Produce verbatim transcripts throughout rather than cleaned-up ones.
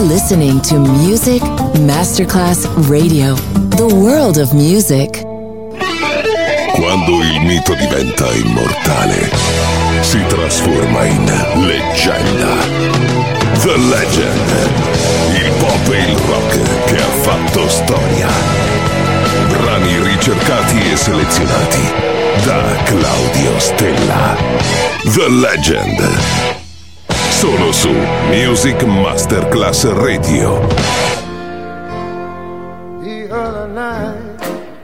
listening to Music Masterclass Radio, the world of music. Quando il mito diventa immortale, si trasforma in leggenda. The Legend, il pop e il rock che ha fatto storia. Brani ricercati e selezionati da Claudio Stella. The Legend. Solo su Music Masterclass Radio. The other night,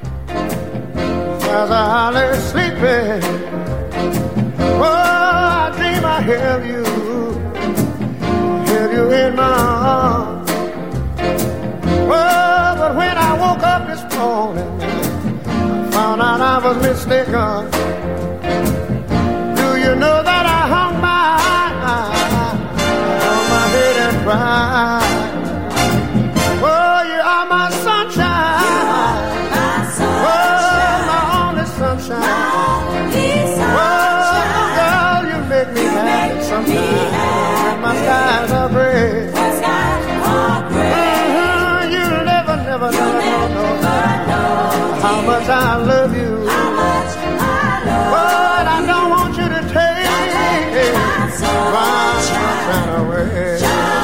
as I lay sleeping, oh, I dream I held you, held you in my arms. Oh, but when I woke up this morning, I found out I was mistaken. Do you know that I hung my right. Oh, you are my sunshine. My sunshine. Oh, my only sunshine. My only sunshine. Oh, girl, you make me you happy make sometimes. Me happy. My skies are gray. My skies are gray. Uh-huh. You never, never, you never, never know, know how much I love you. How much I love you. But I don't want you to take, take my sunshine away.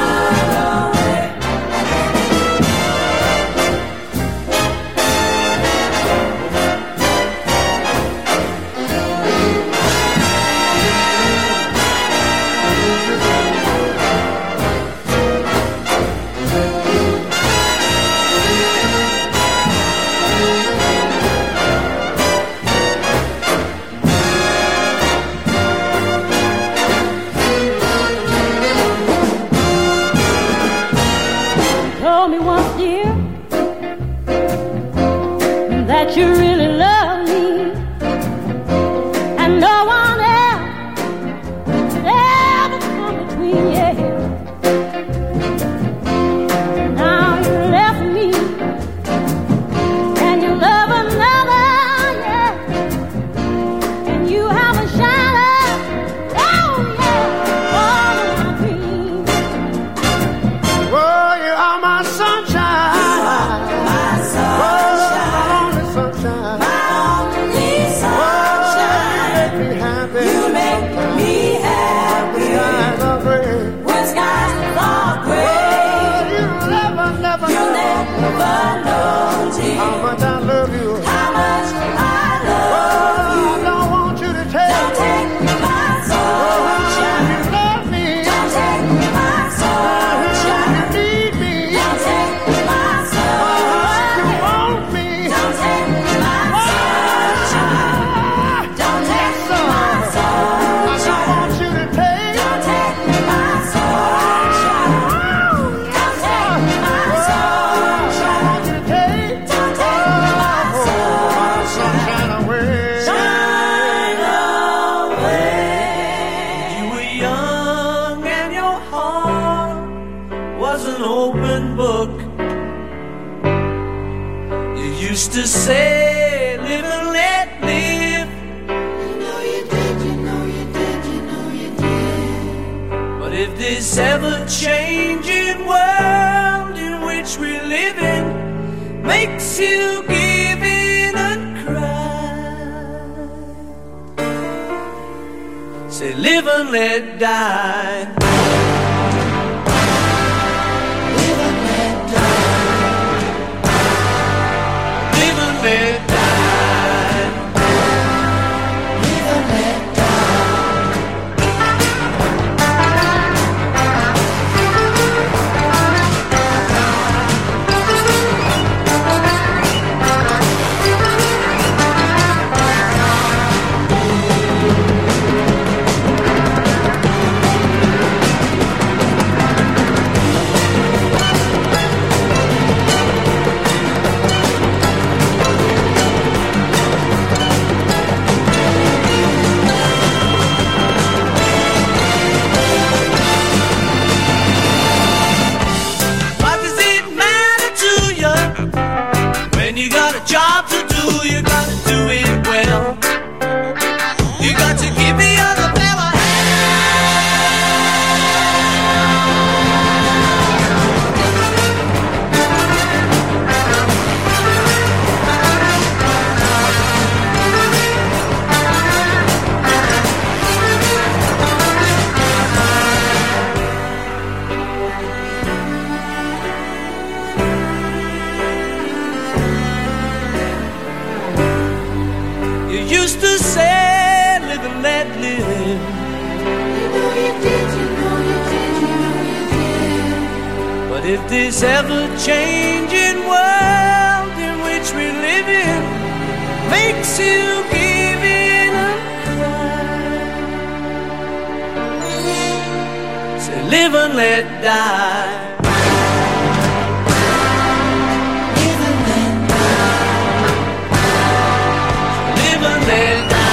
You really love me, and no one else ever come between you. Now you left me, and you love another, yeah, and you have a shadow, oh yeah, all of my dreams. Oh, you are my sunshine, my sunshine. How much I love you. How much I love you. I don't want you to take. Don't take my sunshine. You love me. Don't take my sunshine. You need me. Don't take my sunshine. You want me. Don't take my sunshine. Don't take my sunshine. I don't want you to take. Don't take my sunshine. Don't take my sunshine. I want you to take. Used to say, live and let live. You know you did, you know you did, you know you did. But if this ever-changing world in which we live in makes you give in and cry, say live and let die. Let die. Live and let But if this ever-changing world in which we live in makes you give in and cry, say live and let die. Live and let die. Live and let die.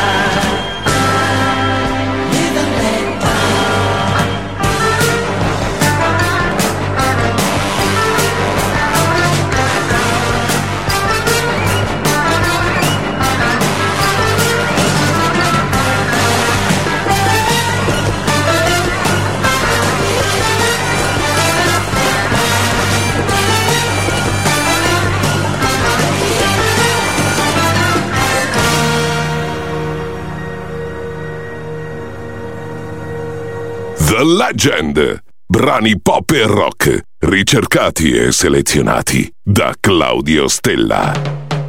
The Legend, brani pop e rock, ricercati e selezionati da Claudio Stella.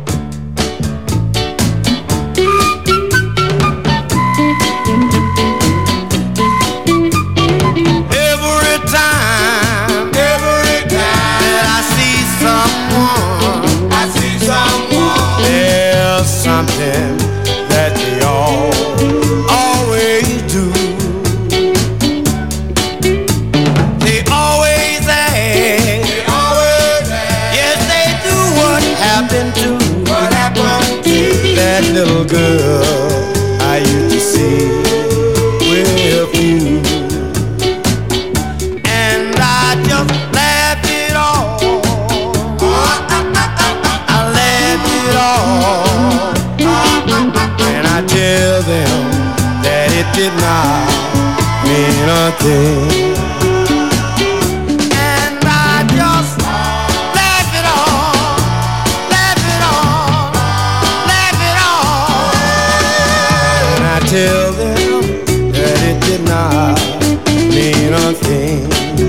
Something that they all always do. They always ask, they always ask. Yes, they do. What happened to, what happened to that little girl I used to see with you? And I just laughed it off. I laughed it off. And I tell them that it did not mean a thing. And I just laugh it off, laugh it off, laugh it off. And I tell them that it did not mean a thing.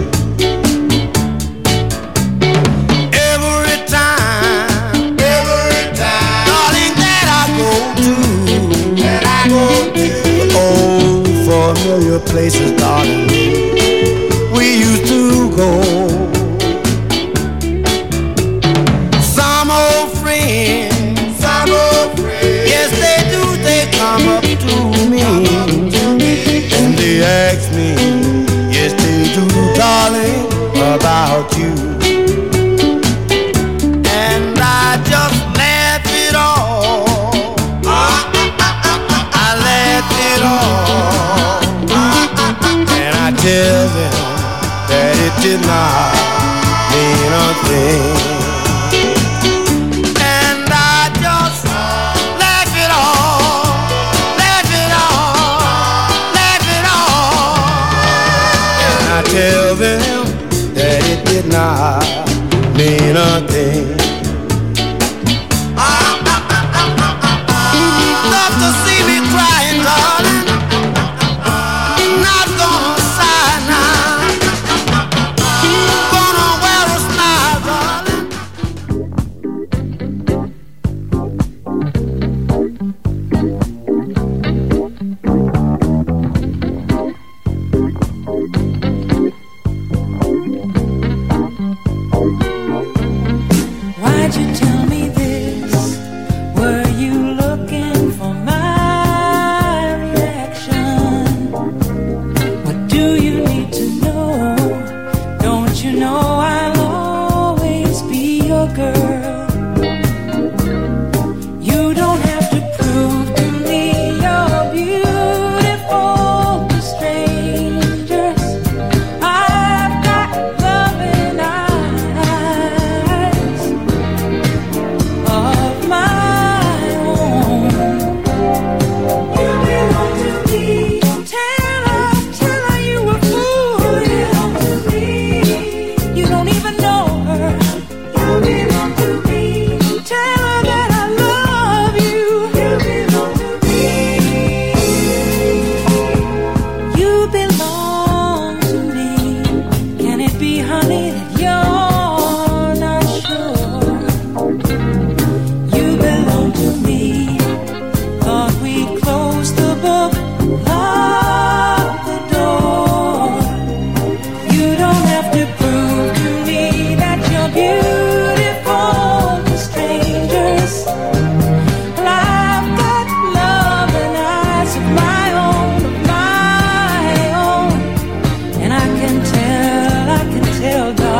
Familiar places, darling, we used to go. Some old friends, some old friends, yes they do, they come up to me and they ask me, yes they do, darling, about you. And I just laugh it off, I laugh it off. I tell them that it did not mean a thing. And I just laugh it off, laugh it off, laugh it off. And I tell them that it did not mean a thing. Love to see me crying, darling. Not gonna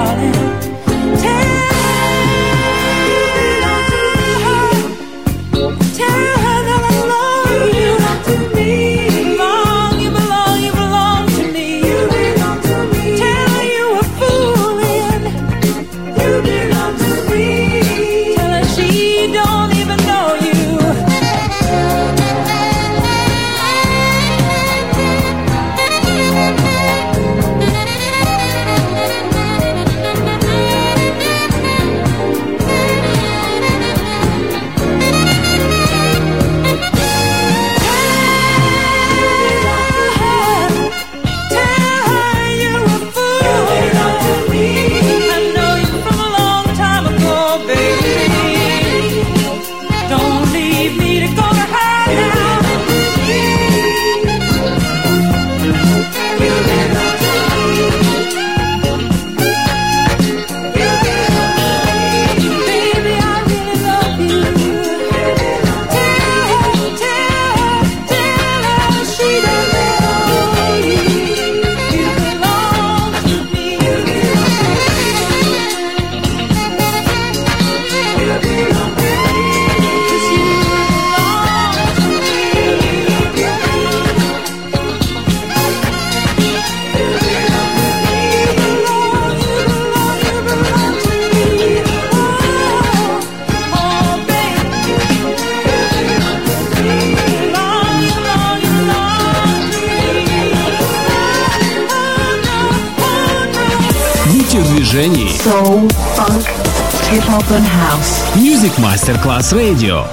Soul, funk, hip-hop and house. Music Masterclass Radio.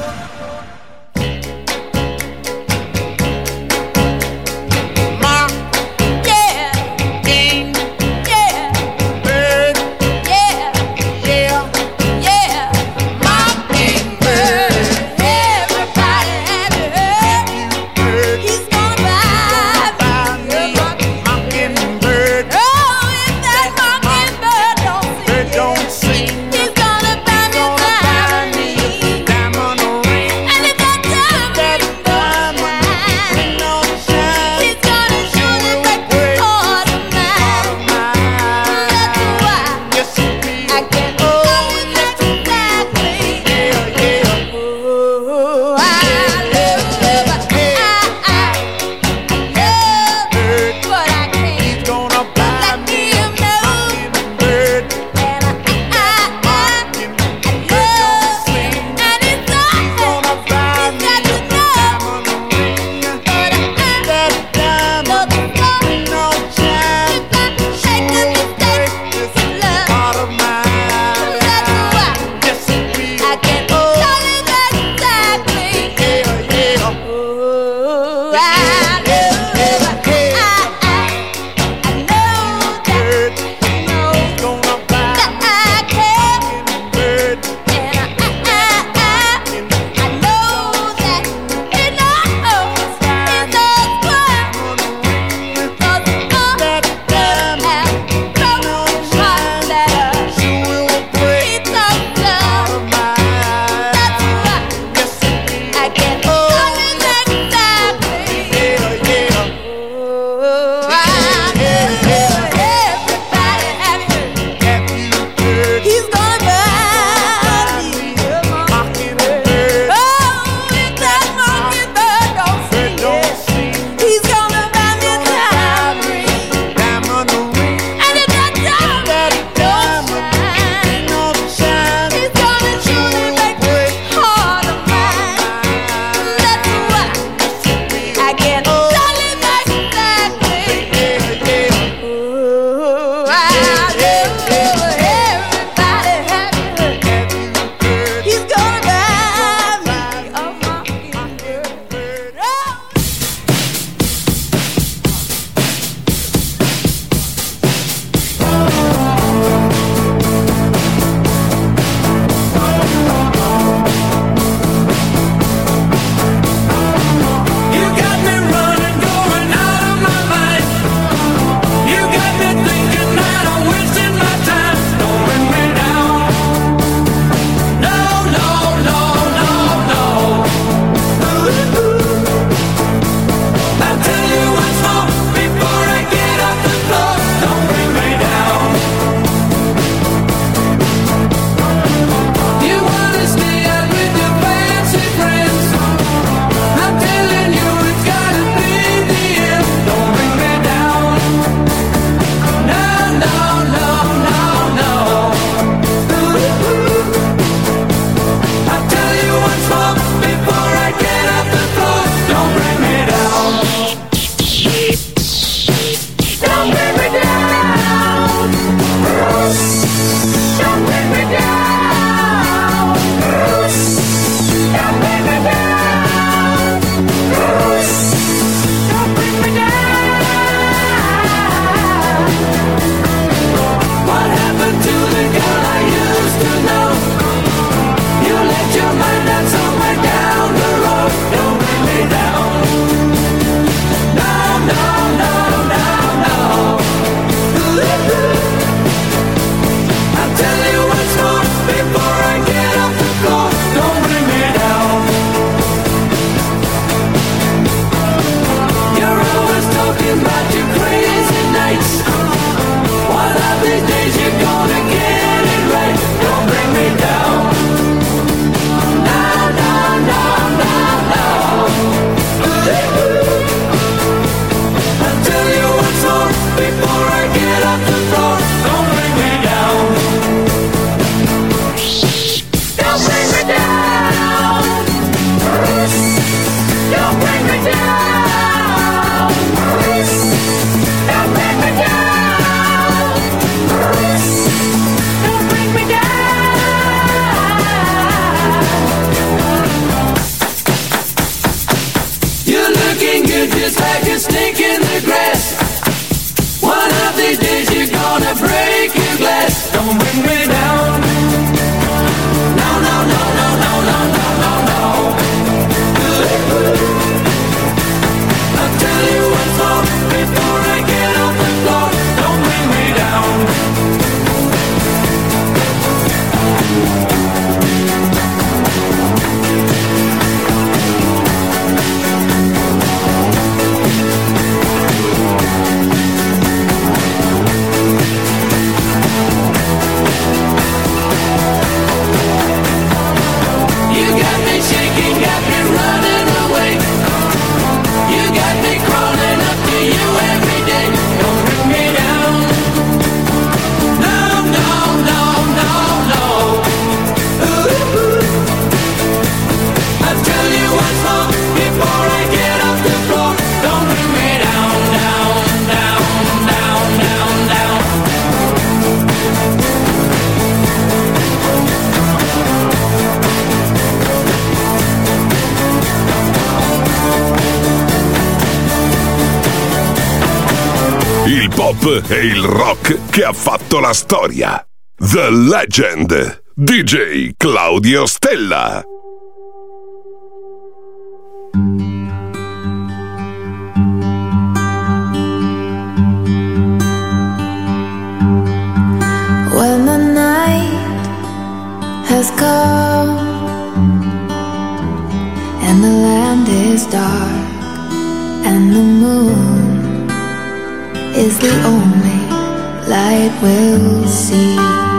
Don't pop e il rock che ha fatto la storia. The Legend, D J Claudio Stella. When the night has come and the land is dark and the moon is the only light we'll see.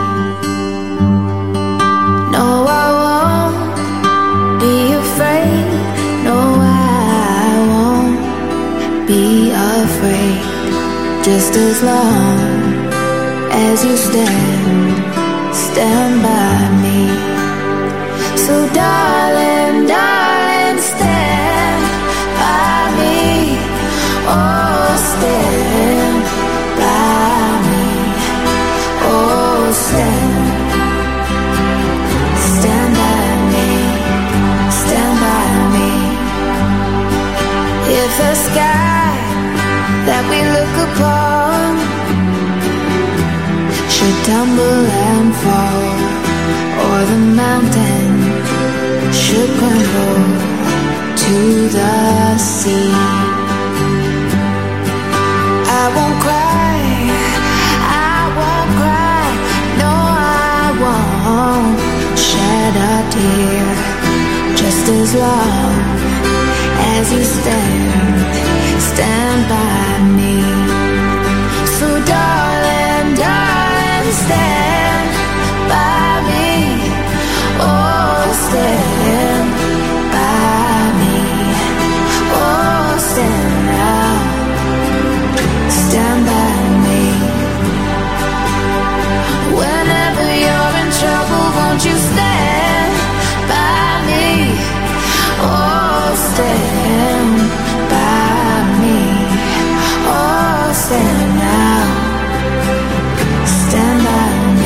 No, I won't be afraid. No, I won't be afraid. Just as long as you stand, stand by me. So darling, darling, stand by me. Oh, stand by me. Oh, stand, stand by me. Stand by me. If the sky that we look upon should tumble and fall, or the mountain should crumble to the sea, I won't cry, I won't cry, no, I won't shed a tear. Just as long as you stand, stand by me. So darling, darling, stand by me. Oh, stand by me. Oh, stand now. Stand by me. Whenever you're in trouble, won't you stand by me? Oh, stand by me. Oh, stand now. Stand by me.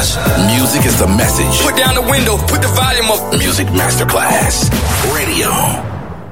Masterclass. Music is the message. Put down the window, put the volume up. Music Masterclass Radio.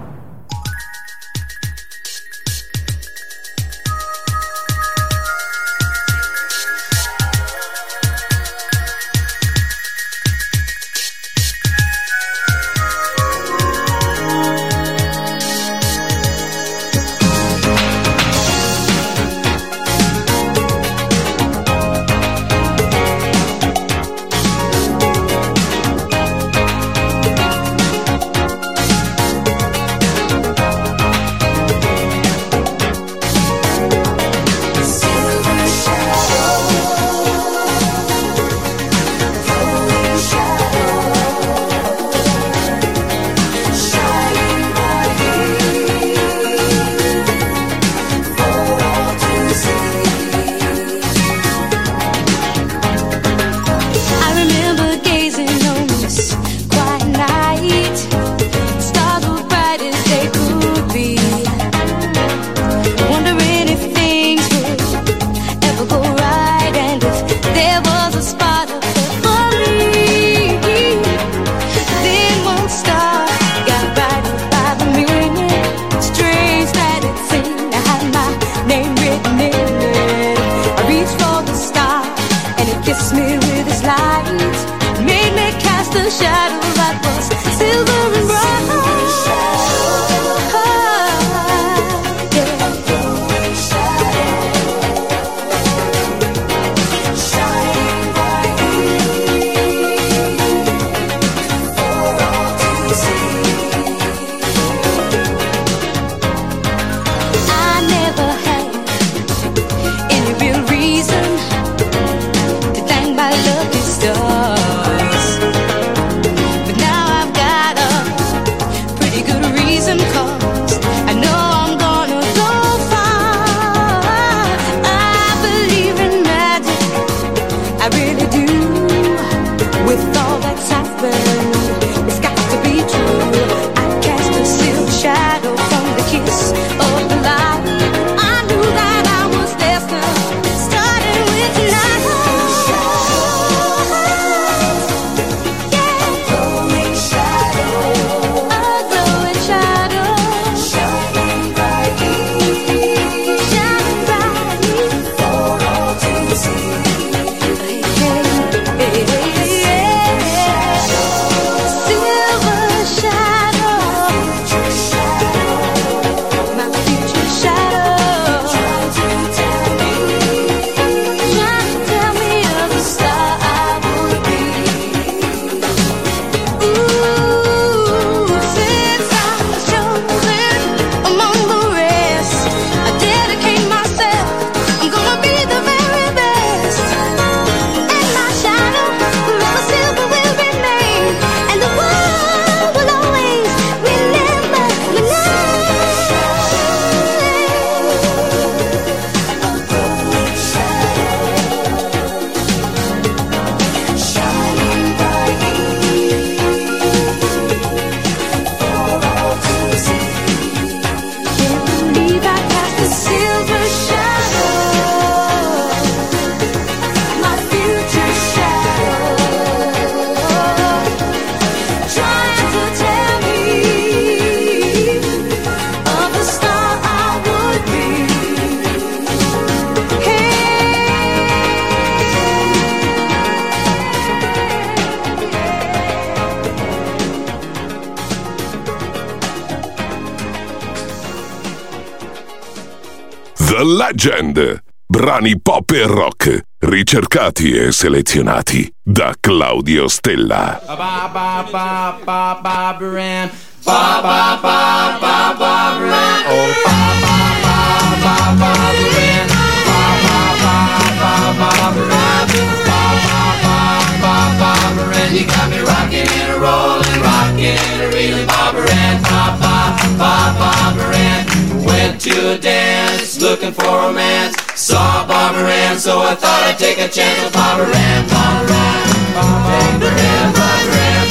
The Legend. Brani pop e rock, ricercati e selezionati da Claudio Stella. Ba ba ba ba ba Baran. Ba ba ba ba ba Baran. Oh ba ba ba ba ba Baran. Ba ba ba ba ba Baran. Ba ba ba ba ba Baran. You got me rocking and a rolling, rocking and a reeling, Bob Baran. Ba ba ba ba Baran. Went to a dance, looking for romance. Saw Barbara Ann, so I thought I'd take a chance with Barbara Ann. Barbara Ann, Barbara Ann, Barbara Ann,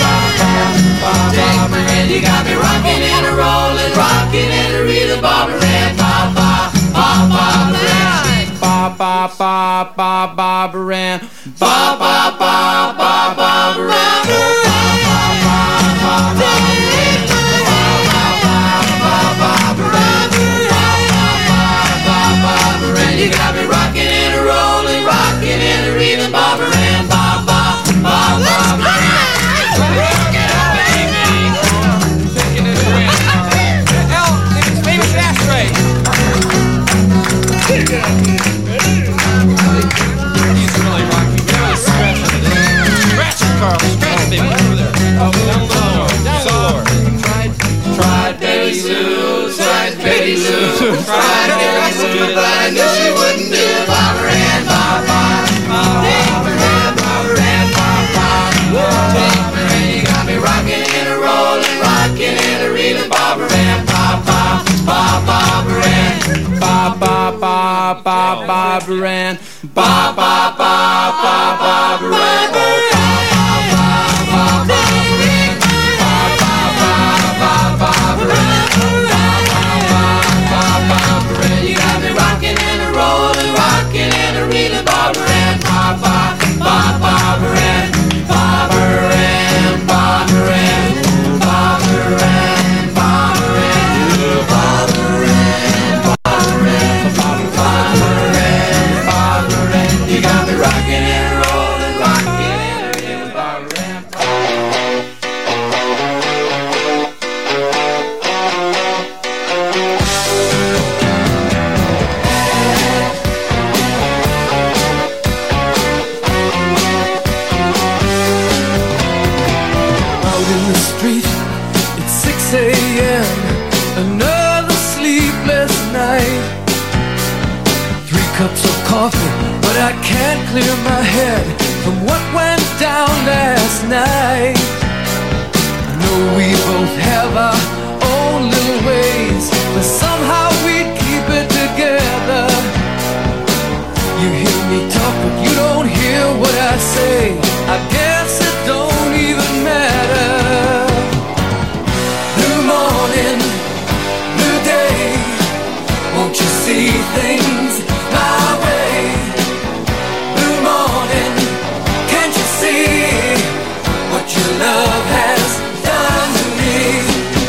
Barbara Ann. You got me rocking and a rolling, rocking and a reeling, Barbara Ann. Ba ba ba Barbara Ann. Ba ba ba ba ba Barbara Ann, ba ba ba ba Barbara Ann, ba ba ba ba Barbara Ann. You got me rocking and a rolling, rocking and a reeling, Barbara Ann, ba ba ba Barbara Ann. Rock it up, baby. Taking it away. L, it's famous ashtray. He's really rocking. Give us a scratch on it. Scratch it, Carl. Scratch it, baby. Over there. Oh, down low. Down low. Tried, tried Betty Lou. Tried Betty Lou. Tried Betty Lou, but I knew she wouldn't do it. Barbara Ann, ba ba ba Barbara Ann, Barbara Ann, ba ba Barbara Ann. You got me rocking and a rolling, rocking and a reeling, Barbara Ann, ba ba ba Barbara Ann, ba ba ba ba Barbara Ann, ba ba ba ba Barbara Ann, ba ba ba ba Barbara Ann, ba ba ba ba Barbara Ann, ba ba ba Barbara Ann. You got me rocking and a rolling, rocking and a reeling, Barbara Ann, ba ba ba Barbara Ann, Barbara Ann, Barbara Ann, Barbara Ann, Barbara Ann, Barbara Ann, Barbara Ann, Barbara Ann, Barbara Ann. You got me rocking and rolling, rocking and a reeling, Barbara Ann. Out in the street, it's six a.m. Another sleepless night. Three cups of coffee, but I can't clear my head from what went down last night. I know we both have our own little ways, but somehow we'd keep it together. You hear me talk, but you don't hear what I say. I guess it don't even matter. New morning, new day. Won't you see things my way? New morning, can't you see what your love has done to me?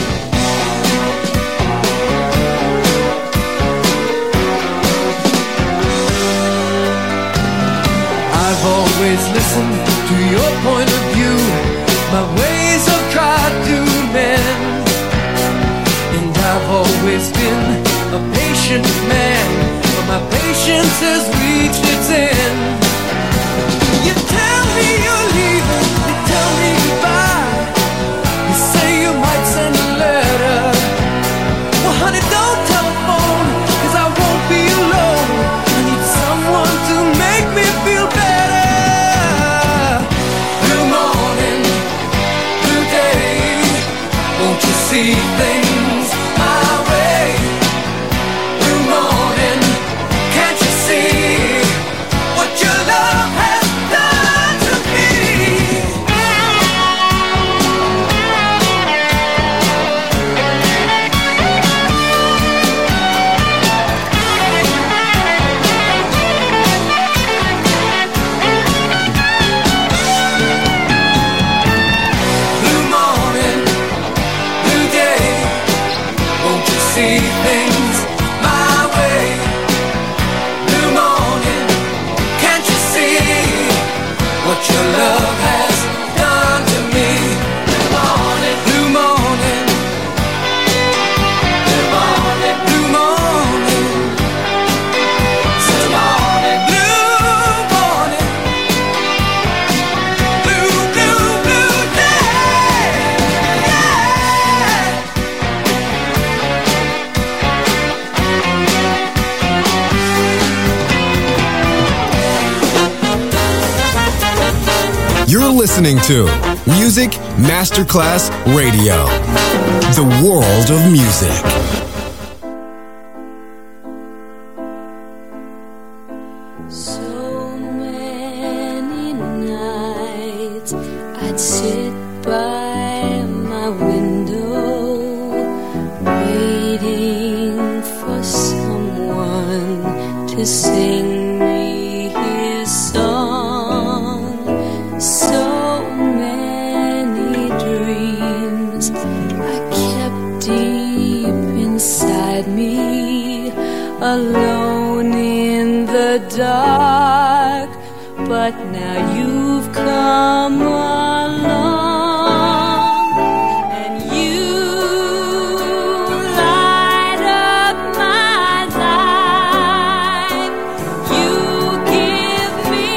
I've always listened to your point of view. My ways have tried to mend, and I've always been a patient man, but my patience has reached its end. You tell me you're leaving, you tell me goodbye. You say you might send a letter. Well, honey, don't telephone, 'cause I won't be alone. I need someone to make me feel better. New morning, new day. Won't you see things my way? New morning, can't you see what your love has done to me? New morning, new day. Won't you see things my way? New morning, can't you see what your love has done to me? New morning, new morning, new morning, new morning, new morning, new morning, blue, blue, blue day. Yeah. You're listening to Music Masterclass Radio, the world of music. So many nights I'd sit by my window, waiting for someone to sing me alone in the dark, but now you've come along and you light up my life. You give me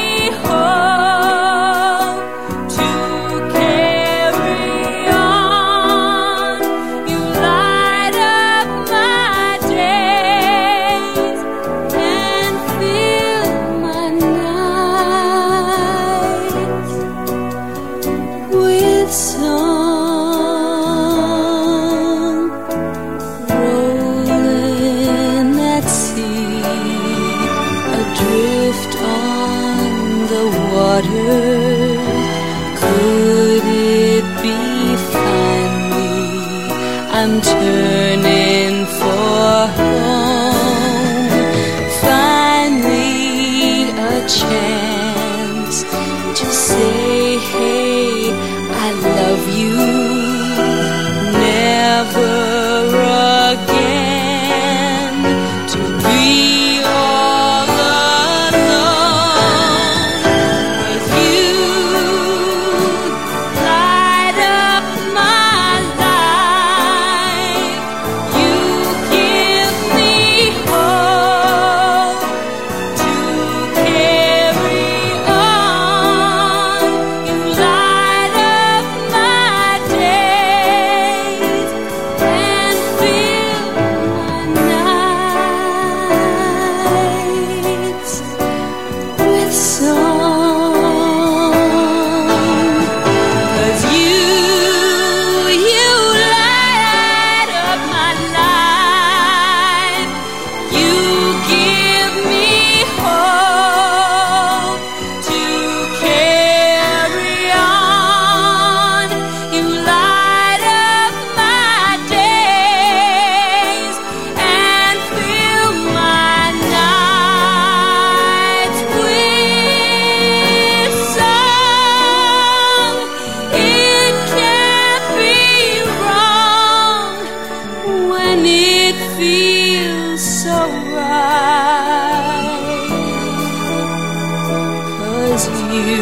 hope to carry on. You light up my days and fill my nights with song. Rolling at sea, adrift on the water. Could it be finally I'm turning for home? Finally a chance to say, hey, I love you. Never again to be all alone. With you light up my life. You give me hope to carry on. You light up my days and fill my nights with song. 'Cause you, you light up my life. You give me hope to carry on. You light up my days and fill my nights with song. It can't be wrong when it feels so right. 'Cause you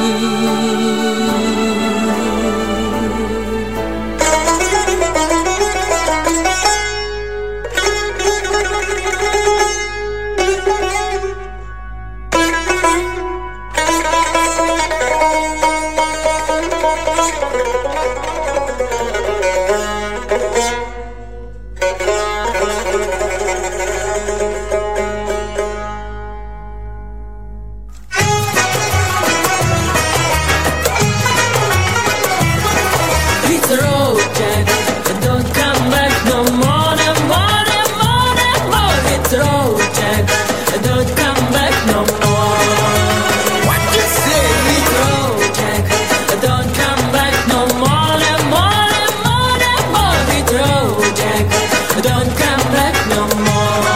hit the road, Jack, and don't come back no more, no more, no more, no more. Hit the road, Jack, and don't come back no more. What you say? Hit the road, Jack, and don't come back no more, no more, no more, no more. Hit the road, Jack, and don't come back no more.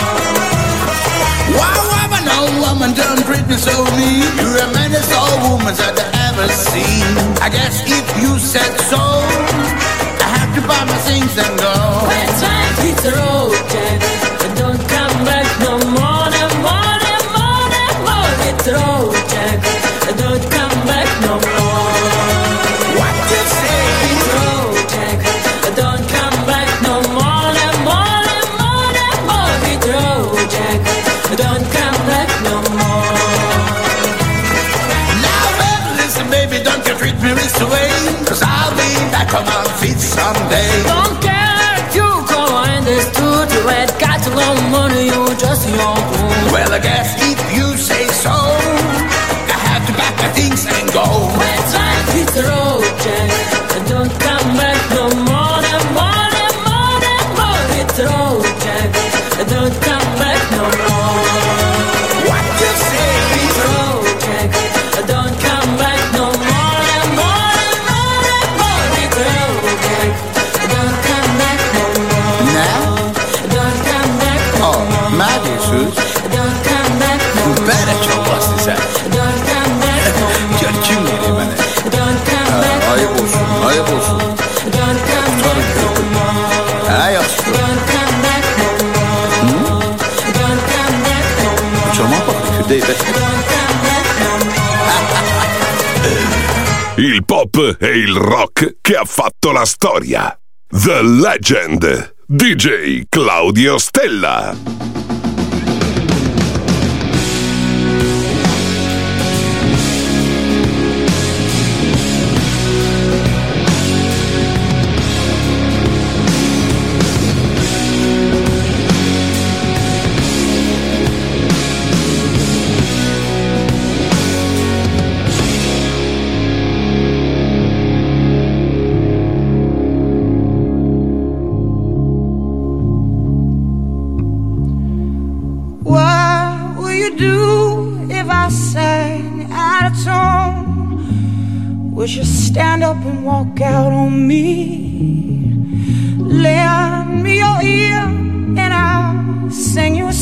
Why woman, no woman, don't treat me so mean. You're a menace, all women that I ever seen. I guess if you said so, I have to buy my things and go. That's right, hit the road, Jack, and don't come back no more, no more, no more, no more. Hit the road, Jack, and don't come back no more. What you say? Hit the road, Jack, and don't come back no more, no more, no more, no more. Hit the road, Jack, and don't come back no more. Now, baby, listen, baby, don't you treat me this way. 'Cause I'll be back on my feet someday. Don't care if you go in this too Il pop e il rock che ha fatto la storia. The Legend, D J Claudio Stella. Would you stand up and walk out on me? Lend me your ear and I'll sing you a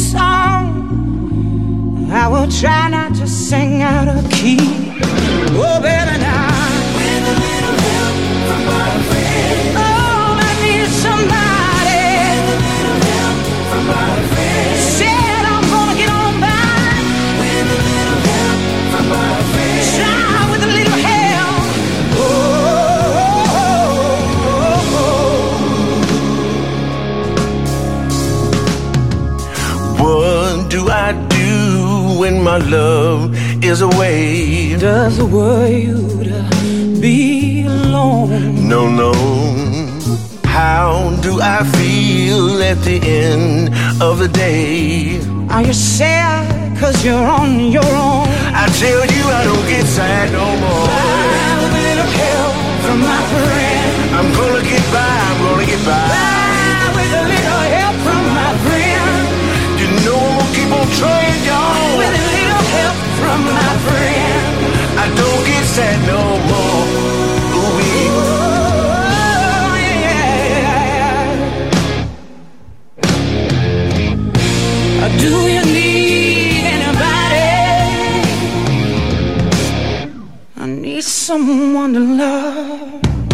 song. I will try not to sing out of key. Oh, baby, now with a little help from my friend. Oh, I need somebody with a little help from my friend. Said I'm gonna get on by with a little help from my friend. Try with a little help. What do I do when my love is away? Does the world you to be alone? No, no. How do I feel at the end of the day? Are you sad cause you're on your own? I tell you I don't get sad no more. I have a little help from my friend. I'm gonna get by, I'm gonna get by. By with a little help from my friend. You know I'm gonna keep on trying, y'all. With a little help from my friend. I don't get sad no more. Ooh, yeah. Do you need anybody? I need someone to love.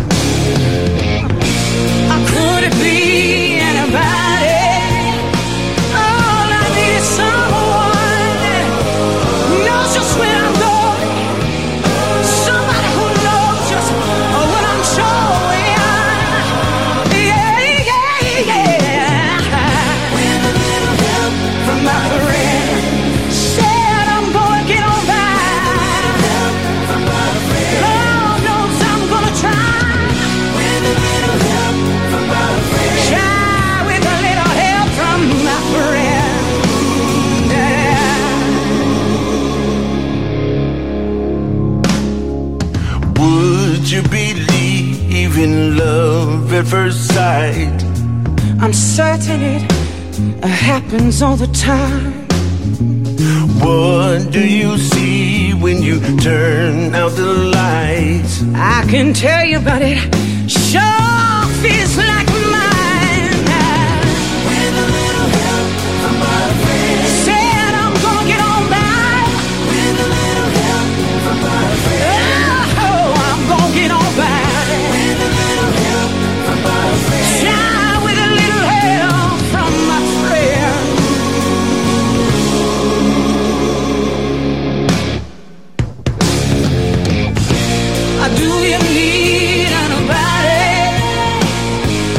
Could it be anybody? All I need is someone who knows just where I'm going. Somebody who knows just what I'm showing. Yeah, yeah, yeah. With a little help from my friend. Said I'm gonna get on by. Help from my friend. Lord knows I'm gonna try. With a little help from my friend. Try with a little help from my friend. yeah. Would you believe in love at first sight? I'm certain it happens all the time. What do you see when you turn out the lights? I can tell you, but it sure feels like mine. With a little help from my friend. Said I'm gonna get on by. With a little help from my friend. Oh, I'm gonna get on by. With a little help from my friend. Try with a little help from my friend. Do you need anybody?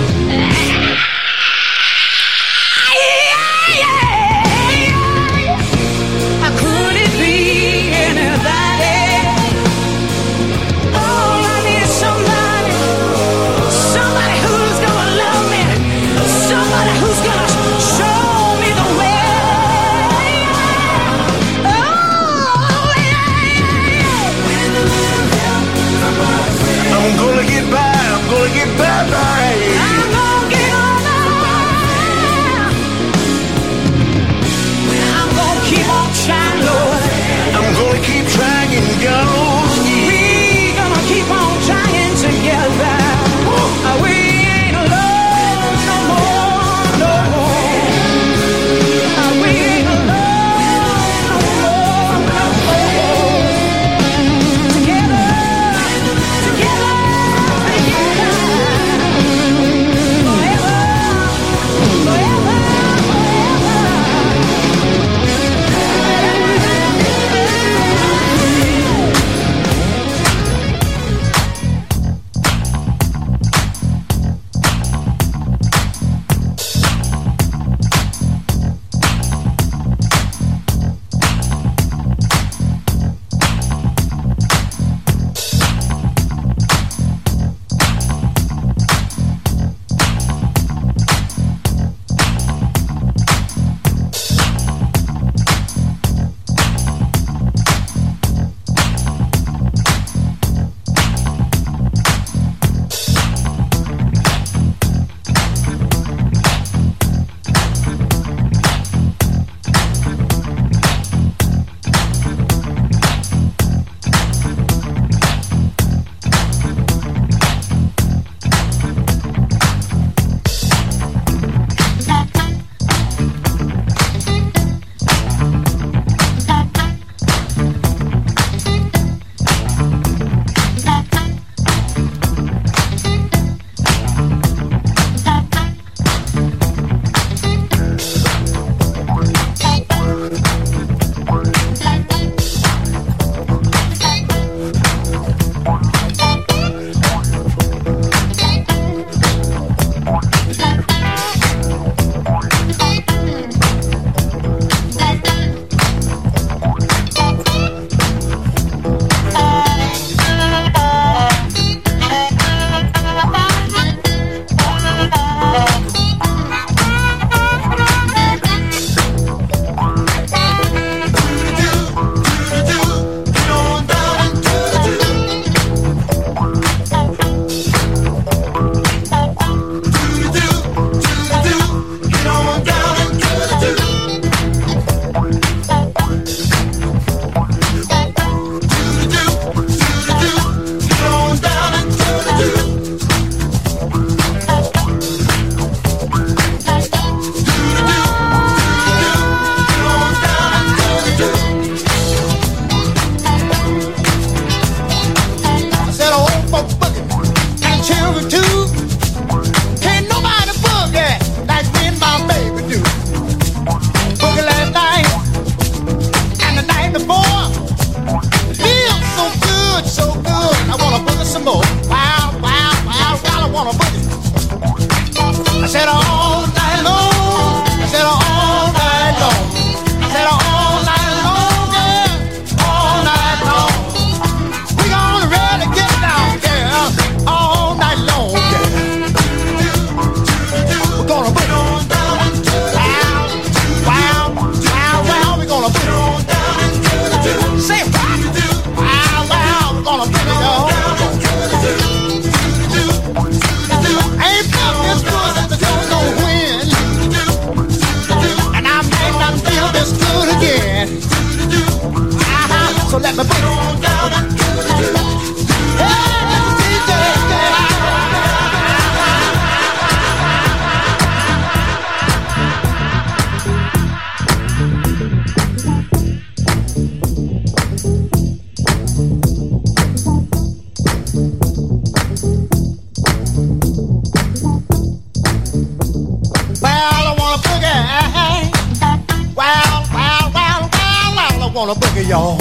wanna boogie, y'all.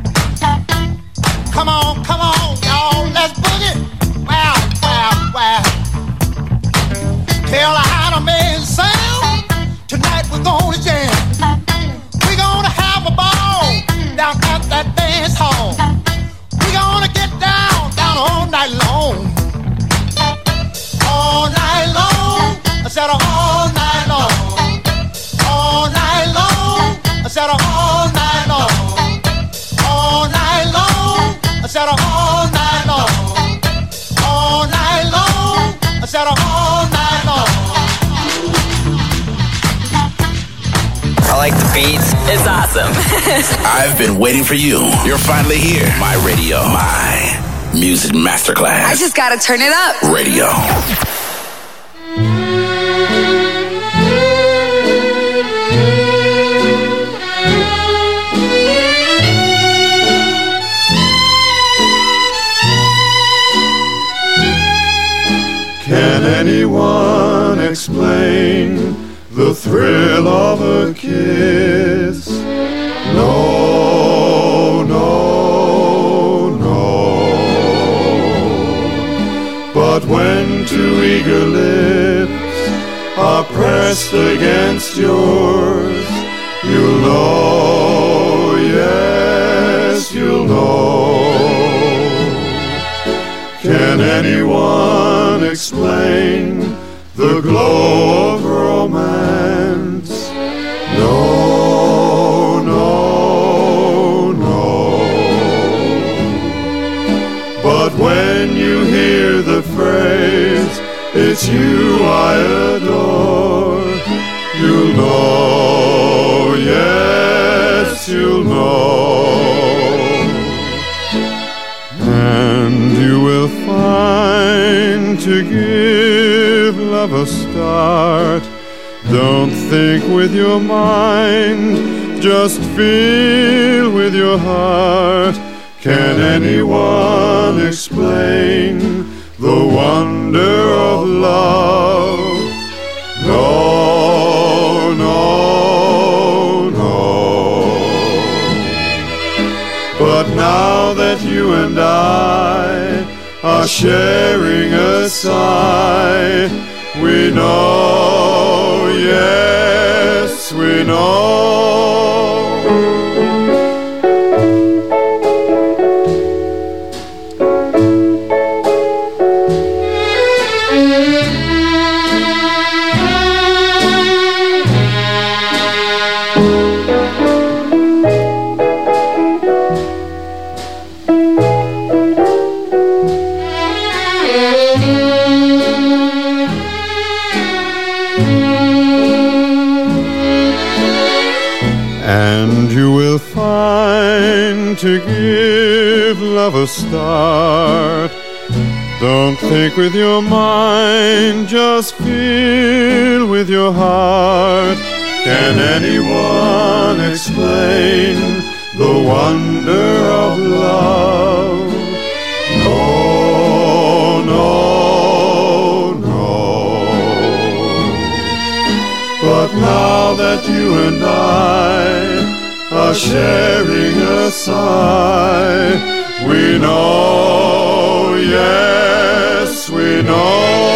Come on, come on, y'all, let's boogie. Wow, wow, wow. Tell her how to make it sound. Tonight we're gonna jam. We're gonna have a ball down at that dance hall. We're gonna get down, down all night long. All night long. I said all night long. All night long. I said all night long. All night long. I said all night long. All night long. I said all night long. I like the beats. It's awesome. I've been waiting for you. You're finally here. My radio. My music masterclass. I just gotta turn it up. Radio. Can anyone explain the thrill of a kiss? No, no, no. But when two eager lips are pressed against yours, you'll know, yes, you'll know. Can anyone explain the glow of romance? No, no, no. But when you hear the phrase, it's you I adore, you'll know, yes, you'll know. And you will find to give love a start, don't think with your mind, just feel with your heart. Can anyone explain the wonder of love? No, no, no. But now that you and I are sharing a sigh, we know, yes, we know. And you will find to give love a start, don't think with your mind, just feel with your heart. Can anyone explain the wonder of love? No, no, no. But now that you and I are sharing a sigh, we know, yes, we know.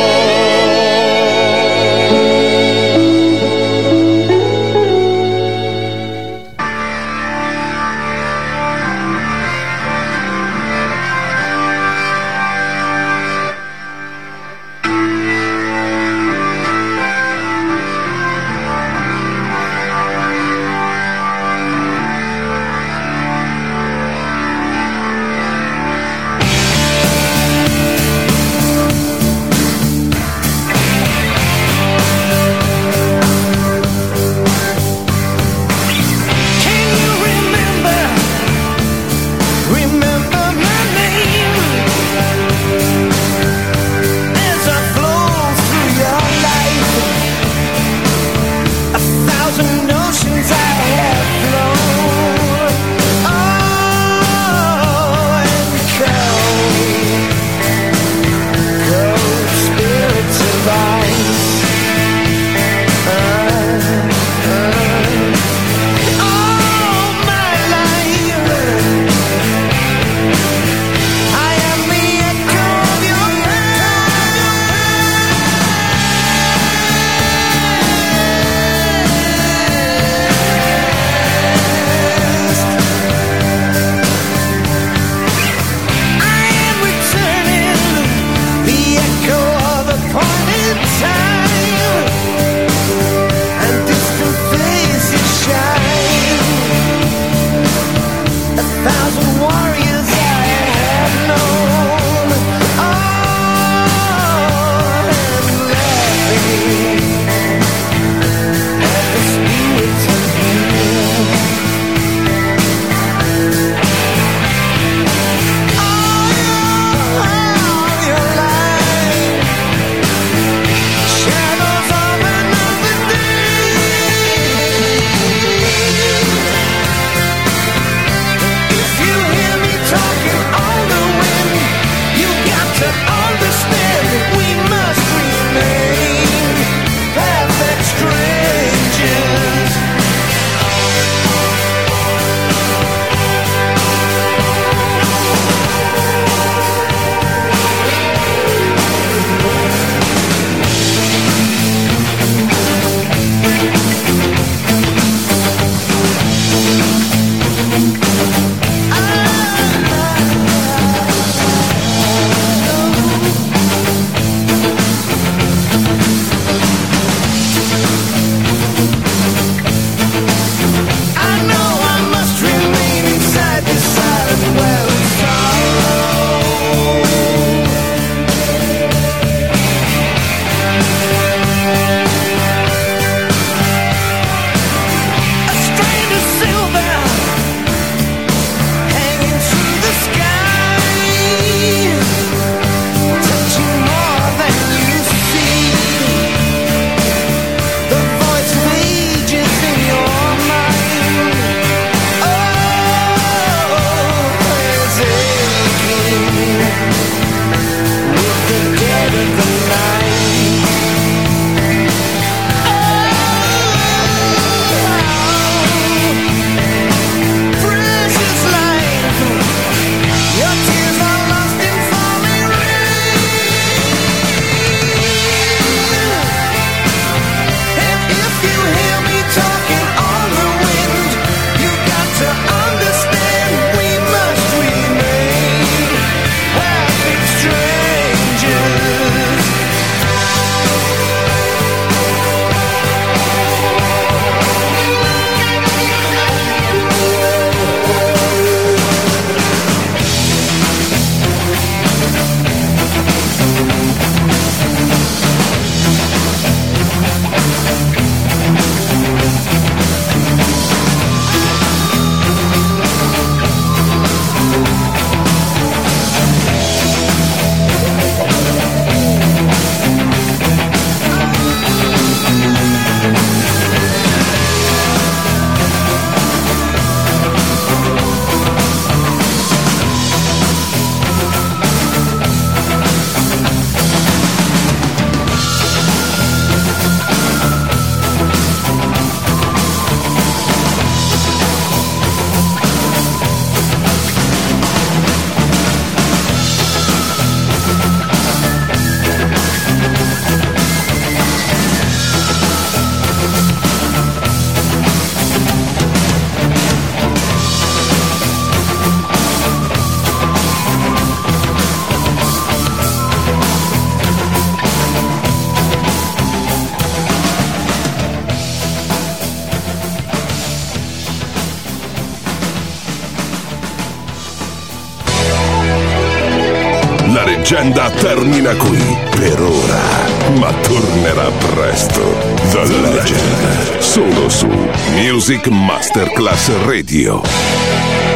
La leggenda termina qui per ora, ma tornerà presto. The Legend, solo su Music Masterclass Radio.